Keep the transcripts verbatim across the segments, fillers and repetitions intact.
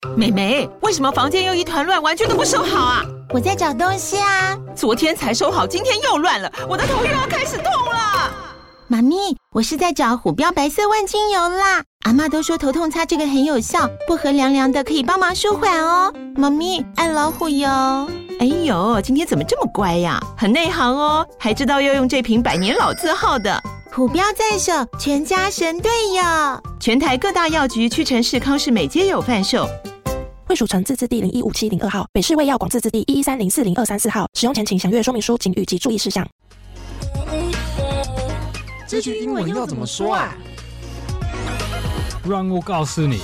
妹妹，為什麼房間又一團亂，完全都不收好啊？ 我在找東西啊。 昨天才收好，今天又亂了，我的頭又要開始痛了。 媽咪，我是在找虎標白色萬金油啦。阿嬤都說頭痛擦這個很有效，薄荷涼涼的，可以幫忙舒緩哦。媽咪，愛老虎油。 哎呦，今天怎麼這麼乖呀？很內行哦，還知道要用這瓶百年老字號的。 虎標在手，全家神隊友。 全台各大藥局、屈臣氏、康是美皆有販售。 衛署成字字第零一五七零二號，北市衛藥廣字字第一一三零四零二三四號。使用前請詳閱說明書、警語及注意事項。 這句英文要怎麼說啊？ 讓我告訴你。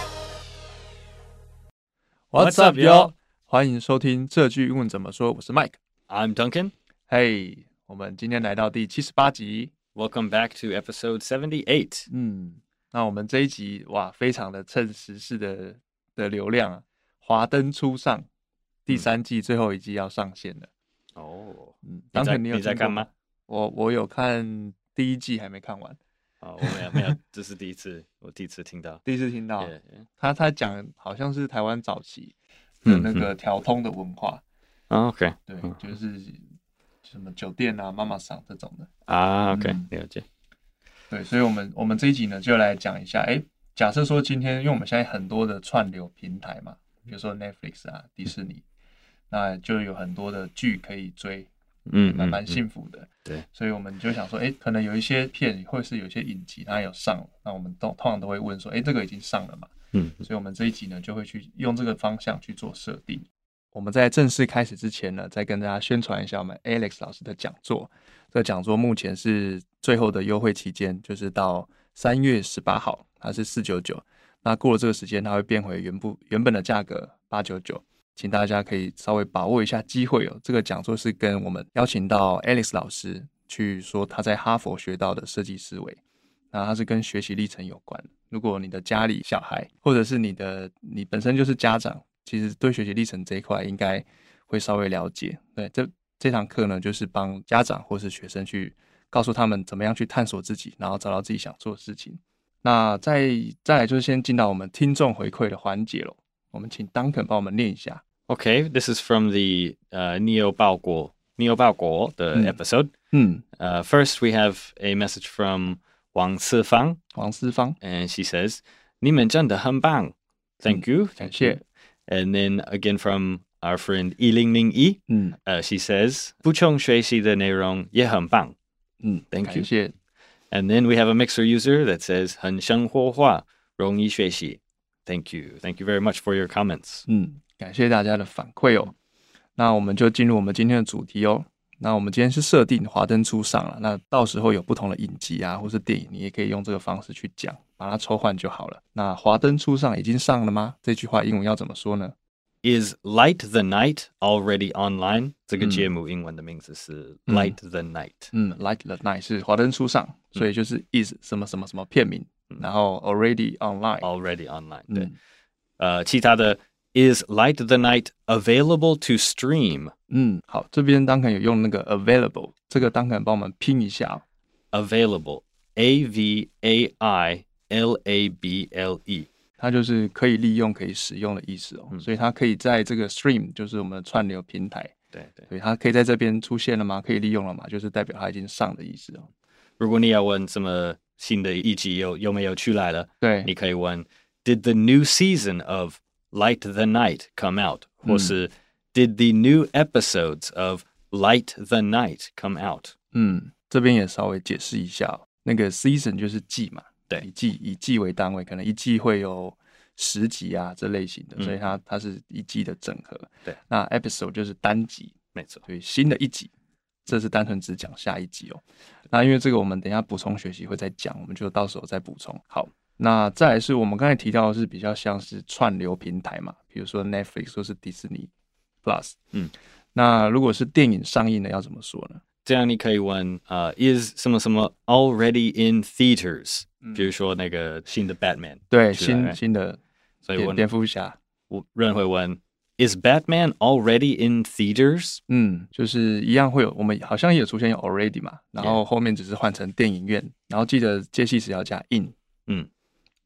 What's up, yo？ 歡迎收聽這句英文怎麼說。我是 Mike，I'm Duncan。 嘿，我們今天來到第七十八集。 Welcome back to episode seventy-eight。 嗯，那我們這一集哇，非常的趁時事的的流量啊，華燈初上，第三季最後一季要上線了。 哦， 嗯， 你在你有你在看嗎？ 我我有看第一季，還沒看完。 哦，我沒有沒有，這是第一次，我第一次聽到， 第一次聽到。 Yeah, yeah. 他他講好像是台灣早期的那個調通的文化。 嗯嗯、OK， 對，就是什麼酒店啊、媽媽桑這種的啊。OK，、 嗯、 了解。 對，所以我們我們這一集呢，就來講一下。哎，假設說今天，因為我們現在很多的串流平台嘛，比如說 Netflix 啊、迪士尼，嗯、那就有很多的劇可以追。嗯，蠻蠻幸福的，嗯嗯嗯，對，所以我們就想說，哎、欸，可能有一些片，或是有一些影集，它有上，那我們都通常都會問說，哎、欸，這個已經上了嘛？嗯，所以我們這一集呢，就會去用這個方向去做設定。我們在正式開始之前呢，再跟大家宣傳一下我們 Alex 老師的講座。這個講座目前是最後的優惠期間，就是到三月十八號，它是四九九。那過了這個時間，它會變回原部原本的價格八九九。請大家可以稍微把握一下機會哦。這個講座是跟我們邀請到 Alex 老師去說他在哈佛學到的設計思維，那它是跟學習歷程有關。如果你的家裡小孩，或者是你的你本身就是家長，其實對學習歷程這一塊應該會稍微了解。對，這這堂課呢，就是幫家長或是學生去告訴他們怎麼樣去探索自己，然後找到自己想做的事情。那再再來就是先進到我們聽眾回饋的環節咯。我們請 Duncan 幫我們念一下。 Okay, this is from the uh, Neo Baoguo, Neo Baoguo, the mm. episode. Mm. Uh, first, we have a message from Wang Sifang. Wang Sifang. And she says, 你們真的很棒. Thank you. Mm. Thank you. And then again from our friend Yi Ling Ming Yi. Mm. Uh, she says, 補充學習的內容也很棒. Mm. Thank you. 感謝. And then we have a Mixer user that says, 很生活化，容易學習. Thank you. Thank you very much for your comments. Mm. 感謝大家的反饋哦，那我們就進入我們今天的主題哦。那我們今天是設定華燈初上了，那到時候有不同的影集啊，或是電影，你也可以用這個方式去講，把它抽換就好了。那華燈初上已經上了嗎？這句話英文要怎麼說呢？ Is Light the Night already online？ 這個節目英文的名字是 Light the Night。 嗯，嗯 ，Light the Night 是華燈初上，所以就是 is 什麼什麼什麼片名，嗯、然後 already online。Already online，對。嗯、呃，其他的。Is Light the Night available to stream？ 嗯，好，這邊當然有用那個 available， 這個當然幫我們拼一下、哦。 Available, A V A I L A B L E， 它就是可以利用、可以使用的意思哦。嗯、所以它可以在這個 stream， 就是我們的串流平台， 對對， 所以它可以在這邊出現了嗎？可以利用了嗎？就是代表它已經上的意思哦。 如果你要問什麼新的一集有有沒有出來了， 對， 你可以問 Did the new season of Light the Night come out？、嗯、或是 Did the new episodes of Light the Night come out？ 嗯，這邊也稍微解釋一下、哦，那個 season 就是季嘛， 對， 以季以季為單位，可能一季會有十集啊這類型的，嗯、所以它它是一季的整合。 對， 那 episode 就是單集， 沒錯， 所以新的一集，這是單純只講下一集哦。那因為這個我們等一下補充學習會再講，我們就到時候再補充。好。那再來是我們剛才提到的是比較像是串流平台嘛，比如說 Netflix 或是迪士尼 Plus。嗯，那如果是電影上映的要怎麼說呢？ 這樣你可以問呃、uh, is 什麼什麼 already in theaters？、嗯、比如說那個新的 Batman， 對，新新的， 所以問蝙蝠俠， 我人會問 is Batman already in theaters？ 嗯，就是一樣會有，我們好像也有出現有 already 嘛，然後後面只是換成電影院，然後記得介系詞要加 in。嗯。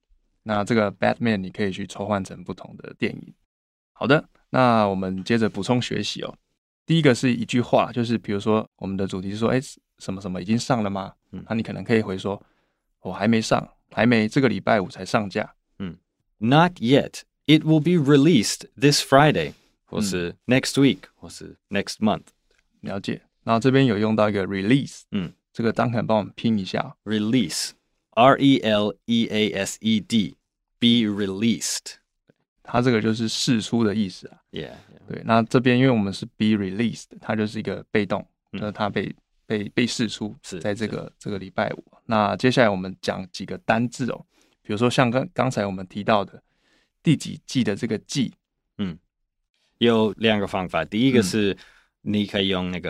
那這個 Batman 你可以去抽換成不同的電影。好的，那我們接着補充學習哦。第一個是一句話，就是比如說我們的主題是說，哎，什麼什麼已經上了嗎？嗯，那你可能可以回說，我還沒上，還沒，這個禮拜五才上架。 嗯 ，Not yet. It will be released this Friday， 或是 next week，、嗯、或是 next month。 了解。然後這邊有用到一個 release， 嗯， 這個Duncan幫我們拼一下。 Release，R E L E A S E D，be released。 它這個就是釋出的意思啊。 Yeah, yeah. 對，那這邊因為我們是 be released， 它就是一個被動，嗯、就是它被被被釋出，是在這個這個禮拜五。那接下來我們講幾個單字哦，比如說像剛剛才我們提到的第幾季的這個季， 嗯，有兩個方法。第一個是你可以用那個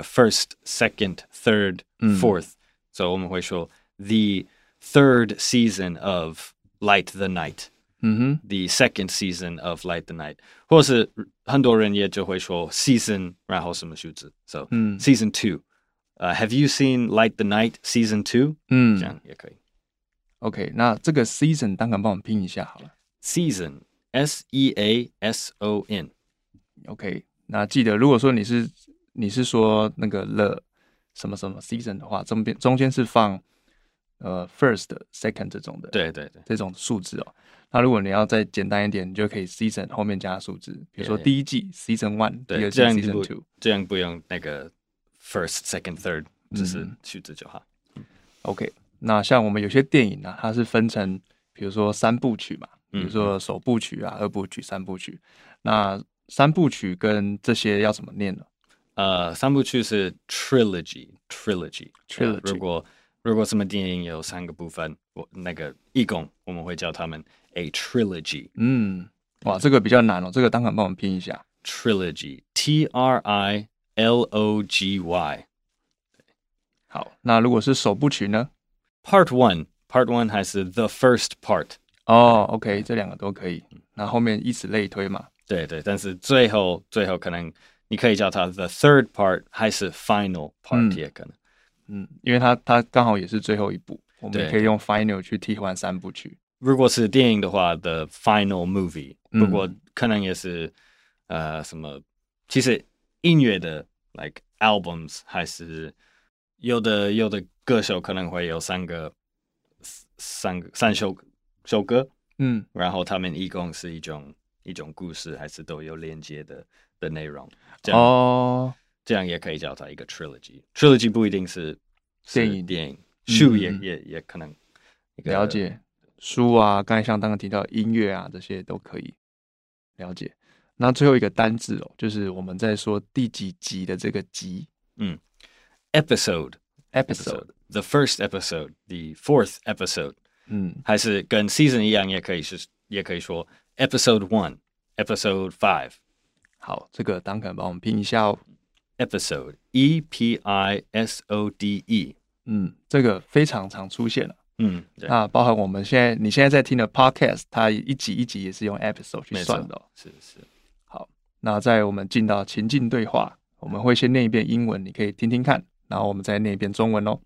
first、second、third、fourth，、嗯、所以我們會說 the third season of Light the Night。嗯哼 ，the second season of Light the Night， 或是很多人也就會說 season， 然後什麼數字 ，so、嗯、season two。Uh, have you seen Light the Night season two？ 嗯，這樣也可以。 OK， 那這個 season 當然幫我們拼一下好了。 Season S E A S O N。OK， 那記得如果說你是你是說那個 the 什麼什麼 season 的話，中間中間是放呃 first、second 這種的， 對對對， 這種數字哦。那如果你要再簡單一點，你就可以 season 後面加數字，比如說第一季 season one， 第二季 season two， 這樣不用那個 first second third， 只是數字就好。 嗯、OK， 那像我們有些電影啊，它是分成比如說三部曲嘛，比如說首部曲啊、嗯、二部曲、三部曲。那三部曲跟這些要怎麼念呢？ 呃，三部曲是 trilogy，trilogy，trilogy trilogy。 如果如果什麼電影有三個部分，我那個一共我們會叫他們 a trilogy。 嗯，哇，這個比較難哦，這個當場幫我們拼一下 trilogy，T R I L O G Y。 好，那如果是首部曲呢 ？Part one，Part one 還是 the first part？ 哦 ，OK， 這兩個都可以。那後面以此類推嘛。 對對，但是最後最後可能你可以叫它 the third part 還是 final part、嗯、也可能。 嗯，因為它它剛好也是最後一部，我們可以用 final 去替換三部曲。 如果是電影的話 ，the final movie。不過可能也是、嗯、呃什麼，其實音樂的 like albums 還是有的有的歌手可能會有三個三個三首首歌，嗯，然後他們一共是一種一種故事，還是都有連接的的內容。這樣哦。這樣也可以叫它一個 trilogy。trilogy 不一定是電影，電影書也、嗯、也也可能了解書啊。剛才像剛剛提到音樂啊，這些都可以了解。那最後一個單字哦，就是我們在說第幾集的這個集， 嗯 ，episode，episode，the first episode，the fourth episode，嗯，還是跟 season 一樣，也可以是也可以說 episode one，episode five。 好，這個當可能幫我們拼一下哦。 Episode E P I S O D E， 嗯，這個非常常出現了， 嗯， 那包含我們現在你現在在聽的 podcast， 它一集一集也是用 episode 去算的、哦， 是是。 好，那在我們進到情境對話，我們會先念一遍英文，你可以聽聽看，然後我們再念一遍中文哦。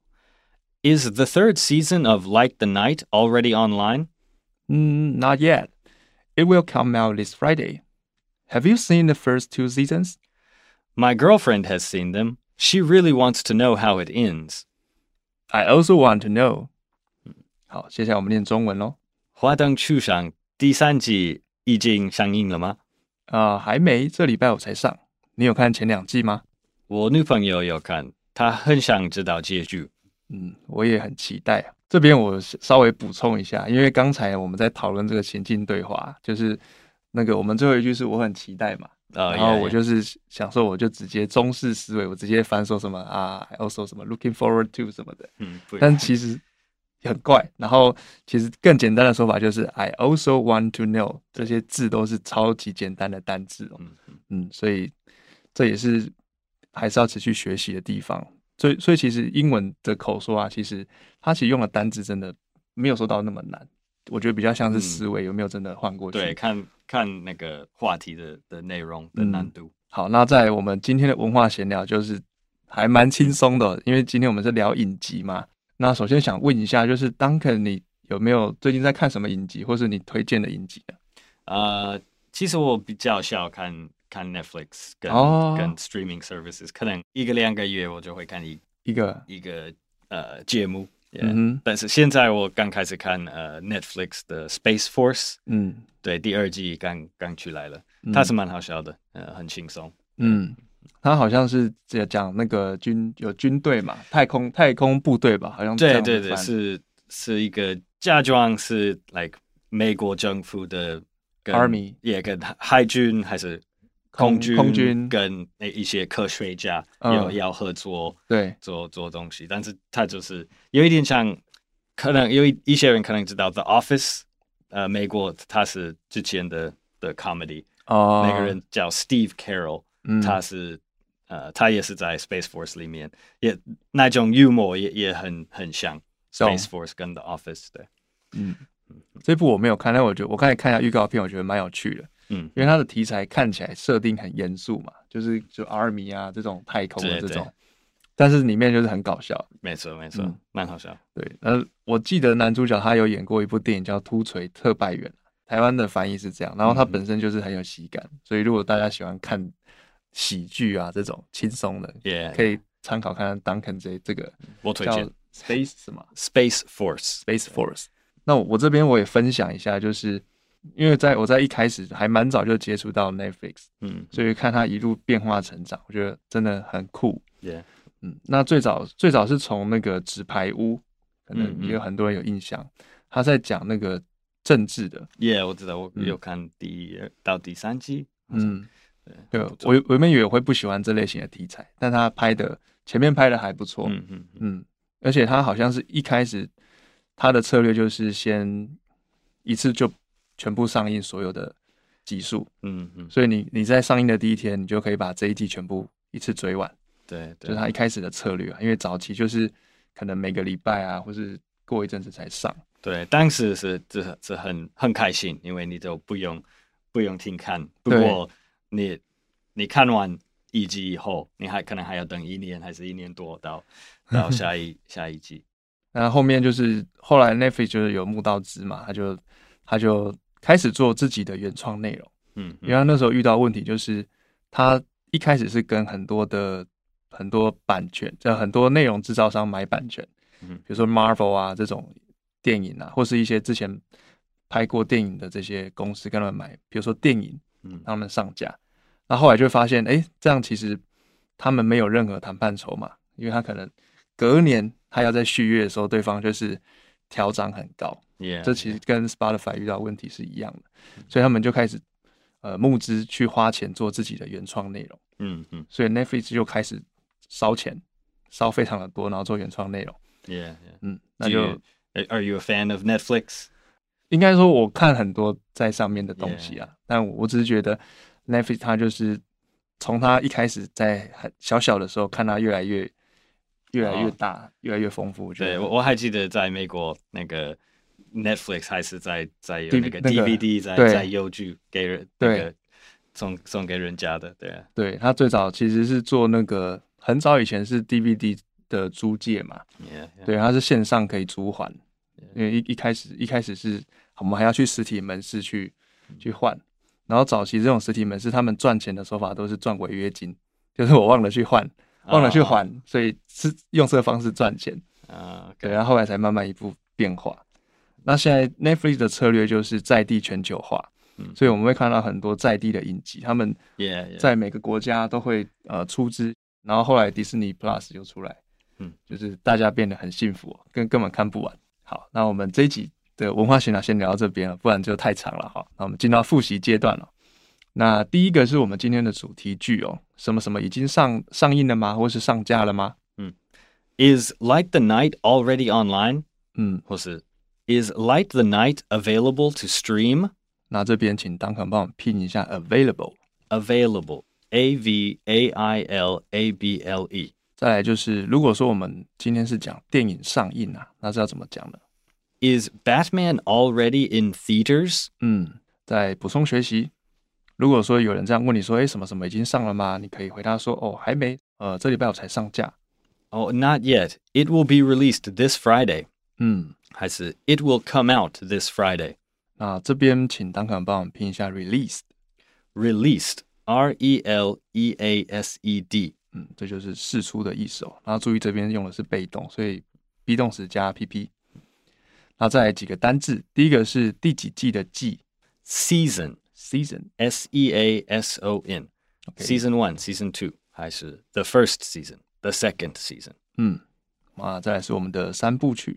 Is the third season of Light the Night already online? Mm, not yet. It will come out this Friday. Have you seen the first two seasons?My girlfriend has seen them. She really wants to know how it ends. I also want to know. 好，接下來我們念中文咯。 花燈初上第三季已經上映了嗎？ 啊、呃，還沒，這禮拜五才上。你有看前兩季嗎？ 我女朋友有看，她很想知道結局。 嗯，我也很期待啊。這邊我稍微補充一下，因為剛才我們在討論這個情境對話，就是那個我們最後一句是我很期待嘛。Uh, 然後我就是想說，我就直接中式思維，我直接翻說什麼啊 ，I also 什麼 looking forward to 什麼的，嗯，但其實很怪。然後其實更簡單的說法就是 I also want to know， 這些字都是超級簡單的單字哦，嗯嗯，所以這也是還是要持續學習的地方。所以所以其實英文的口說啊，其實它其實用的單字真的沒有說到那麼難。我覺得比較像是思維、嗯、有沒有真的換過去？ 對，看看那個話題的的內容的難度、嗯。 好，那在我們今天的文化閒聊就是還蠻輕鬆的，因為今天我們是聊影集嘛。那首先想問一下，就是 Duncan，你有沒有最近在看什麼影集，或是你推薦的影集呢？ 呃，其實我比較少看看 Netflix 跟、哦、跟 streaming services， 可能一個兩個月我就會看一一個一個呃節目。Yeah, 嗯，但是現在我剛開始看呃 Netflix 的 Space Force， 嗯，對，第二季剛剛出來了，它是蠻好笑的，呃，很輕鬆。嗯， 它好像是講那個軍有軍隊嘛，太空太空部隊吧，好像這樣。 對對對，是是一個假裝是 like 美國政府的 Army， 也跟海軍還是。空軍， 空軍跟一些科學家要、嗯、要合作， 對， 做做東西，但是他就是有一點像，可能有一一些人可能知道 The Office， 呃，美國他是之前的的 comedy， 哦，那個人叫 Steve Carell，嗯、他是呃，他也是在 Space Force 裡面，也那種幽默也也很很像 Space Force 跟 The Office 的， 嗯，這部我沒有看，但我覺得我剛才看一下預告片，我覺得蠻有趣的。嗯，因為它的題材看起來設定很嚴肅嘛，就是就 Army 啊這種太空的這種，但是裡面就是很搞笑。 沒錯沒錯，蠻、嗯、好笑。 對，呃，我記得男主角他有演過一部電影叫《突錘特派員》，台灣的翻譯是這樣。然後他本身就是很有喜感，嗯、所以如果大家喜歡看喜劇啊這種輕鬆的， yeah, 可以參考看看 Duncan 這這個。 我推薦 Space 什麼 Space Force Space Force。那我這邊我也分享一下，就是。因為在我在一開始還蠻早就接觸到 Netflix， 嗯，所以看它一路變化成長，我覺得真的很酷。 Yeah， 嗯，那最早最早是從那個紙牌屋，可能也有很多人有印象，他在講那個政治的。 Yeah， 我知道，我有看第一、嗯、到第三季。嗯， 對，我我原本以為我會不喜歡這類型的題材，但他拍的前面拍的還不錯。嗯嗯嗯，而且他好像是一開始他的策略就是先一次就。全部上映所有的集數，嗯嗯，所以你你在上映的第一天，你就可以把這一季全部一次追完。 對，對， 就是他一開始的策略啊，因為早期就是可能每個禮拜啊，或是過一陣子才上。 對，當時是這這很很開心，因為你就不用不用停看。不過你你看完一季以後，你還可能還要等一年還是一年多到到下一下一季。 那後面就是後來 Netflix 就是有募到資嘛，他就他就。開始做自己的原創內容，嗯，因為他那時候遇到問題，就是他一開始是跟很多的很多版權，就很多內容製造商買版權，嗯，比如說 Marvel 啊這種電影啊，或是一些之前拍過電影的這些公司跟他們買，比如說電影，嗯，讓他們上架，那後來就發現，哎，這樣其實他們沒有任何談判籌碼，因為他可能隔年他要在續約的時候，對方就是調漲很高。Yeah, 這其實跟 Spotify 遇到問題是一樣的， yeah. 所以他們就開始呃募資去花錢做自己的原創內容。嗯嗯，所以 Netflix 就開始燒錢，燒非常的多，然後做原創內容。 Yeah, yeah. 嗯，那就 you, Are you a fan of Netflix？ 應該說我看很多在上面的東西啊， yeah. 但我只是覺得 Netflix 它就是從它一開始在很小小的時候看它越來越越來越大， oh. 越來越豐富。我覺得對，我我還記得在美國那個。Netflix 還是在在有那個 D V D 在、那個、在郵局給人那個送送給人家的，對啊， 對，他最早其實是做那個很早以前是 D V D 的租借嘛， yeah, yeah. 對，他是線上可以租還，yeah. 因為一一開始一開始是我們還要去實體門市去去換，然後早期這種實體門市他們賺錢的手法都是賺違約金，就是我忘了去換，忘了去還， oh. 所以是用這個方式賺錢啊， uh, okay. 對，然後後來才慢慢一步變化。那現在 Netflix 的策略就是在地全球化，嗯，所以我們會看到很多在地的影集，他們在每個國家都會呃出資，然後後來迪士尼 Plus 就出來，嗯，就是大家變得很幸福，根根本看不完。好，那我們這一集的文化閒聊先聊到這邊了，不然就太長了哈。那我們進到複習階段了。那第一個是我們今天的主題句哦，什麼什麼已經上上映了嗎？或是上架了嗎？ 嗯 ，Is Light the Night already online？ 嗯， 或是Is Light the Night available to stream？ 那這邊請 Duncan 幫我們拼一下 available available A V A I L A B L E。 再來就是如果說我們今天是講電影上映啊，那是要怎麼講呢？ Is Batman already in theaters？ 嗯，再補充學習，如果說有人這樣問你說，誒，什麼什麼已經上了嗎？你可以回答說，哦，還沒，呃，這禮拜我才上架。 Oh, not yet. It will be released this Friday. 嗯，還是 It will come out this Friday。 那這邊請Duncan幫我們拼一下 released。released，R E L E A S E D。嗯，這就是釋出的意思哦。然後注意這邊用的是被動，所以 be 動詞加 P P。那再來幾個單字，第一個是第幾季的季 ，season，season，S E A S O N。Season one，Season two，還是 the first season，the second season。 嗯，啊，再來是我們的三部曲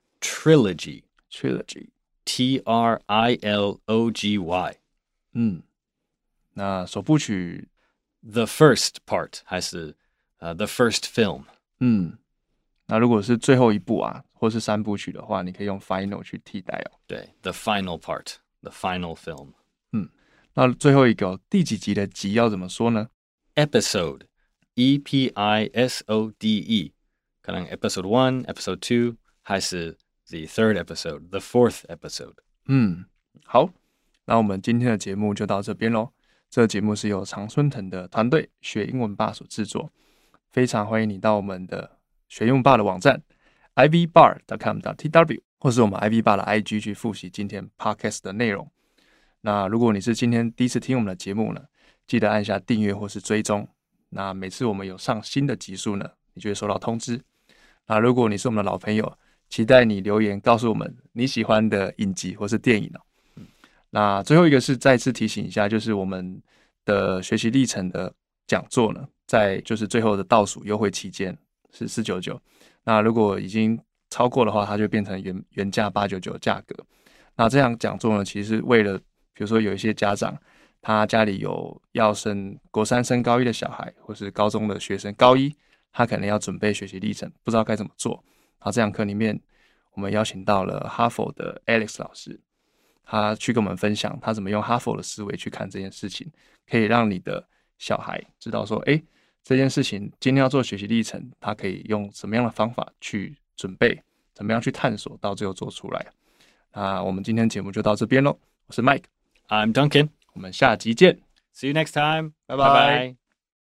，trilogy，trilogy，T R I L O G Y。 嗯，那首部曲 the first part 還是呃、uh, the first film。 嗯，那如果是最後一部啊，或是三部曲的話，你可以用 final 去替代哦。 對 ，the final part，the final film。 嗯，那最後一個、哦、第幾集的集要怎麼說呢 ？episode，E P I S O D E， 可能 episode one、episode two， 還是 the third episode、the fourth episode。 嗯，好，那我們今天的節目就到這邊嘍。這個節目是由常春藤的團隊學英文吧所製作，非常歡迎你到我們的學英文吧的網站 i v bar dot com dot t w 或是我們 I V Bar 的 I G 去複習今天 Podcast 的內容。那如果你是今天第一次聽我們的節目呢，記得按下訂閱或是追蹤。那每次我們有上新的集數呢，你就會收到通知。那如果你是我們的老朋友，期待你留言告訴我們你喜歡的影集或是電影哦。那最後一個是再次提醒一下，就是我們的學習歷程的講座呢，在就是最後的倒數優惠期間是四百九十九。那如果已經超過的話，它就變成原原價八百九十九的價格。那這樣講座呢，其實是為了比如說有一些家長，他家裡有要升國三升高一的小孩，或是高中的學生高一，他可能要準備學習歷程，不知道該怎麼做。然後這堂課裡面，我們邀請到了哈佛的 Alex 老師。他去跟我們分享他怎麼用哈佛的思維去看這件事情，可以讓你的小孩知道說，哎，這件事情今天要做學習歷程，他可以用什麼樣的方法去準備，怎麼樣去探索，到最後做出來。那我們今天節目就到這邊嘍，我是 Mike，I'm Duncan， 我們下集見 ，See you next time， 拜拜。